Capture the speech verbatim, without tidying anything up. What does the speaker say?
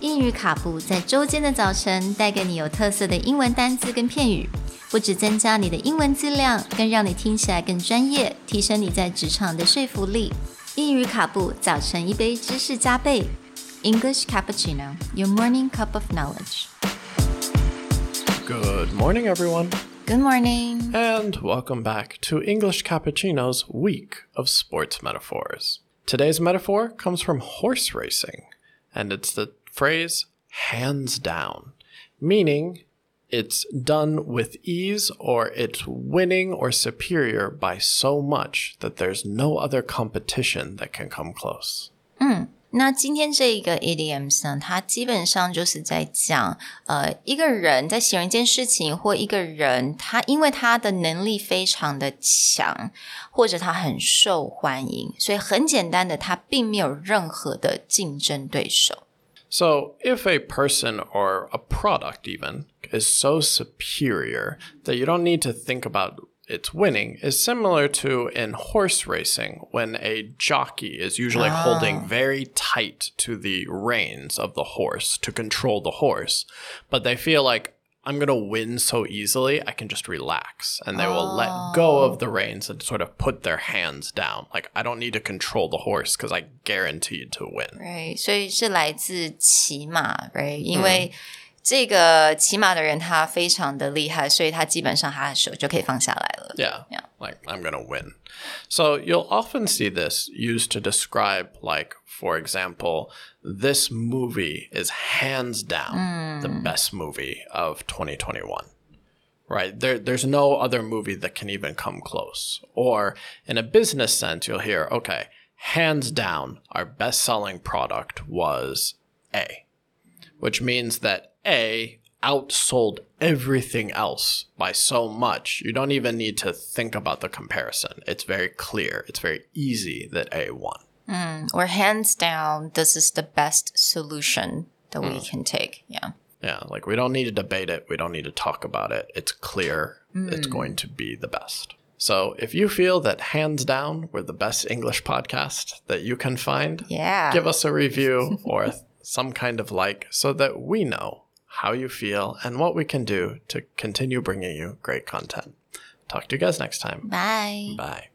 英语卡布在周间的早晨带给你有特色的英文单字跟片语，不只增加你的英文质量，更让你听起来更专业，提升你在职场的说服力。英语卡布早晨一杯知识加倍 English Cappuccino, your morning cup of knowledge. Good morning, everyone. Good morning. And welcome back to English Cappuccino's week of sports metaphors. Today's metaphor comes from horse racing, and it's the phrase hands down, meaning it's done with ease or it's winning or superior by so much that there's no other competition that can come close. 嗯，那今天这一个 idioms 呢，它基本上就是在讲呃一个人在形容一件事情，或一个人他因为他的能力非常的强，或者他很受欢迎，所以很简单的他并没有任何的竞争对手。 So if a person or a product even is so superior that you don't need to think about its winning is similar to in horse racing when a jockey is usually ah. holding very tight to the reins of the horse to control the horse, but they feel like I'm going to win so easily, I can just relax. And they will oh. let go of the reins and sort of put their hands down. Like, I don't need to control the horse because I guaranteed to win. Right. 所以是来自骑马 right? 因为这个骑马的人他非常的厉害，所以他基本上他的手就可以放下来了。 Yeah. yeah. Like, I'm going to win. So you'll often see this used to describe, like, for example, this movie is hands down mm. the best movie of twenty twenty-one. Right? There, there's no other movie that can even come close. Or in a business sense, you'll hear, okay, hands down, our best-selling product was A, which means that A outsold everything else by so much. You don't even need to think about the comparison. It's very clear. It's very easy that A won. Mm, or hands down, this is the best solution that mm. we can take. Yeah. Yeah, like we don't need to debate it. We don't need to talk about it. It's clear mm. it's going to be the best. So if you feel that hands down we're the best English podcast that you can find, yeah. give us a review or some kind of like so that we know how you feel and what we can do to continue bringing you great content. Talk to you guys next time. Bye. Bye.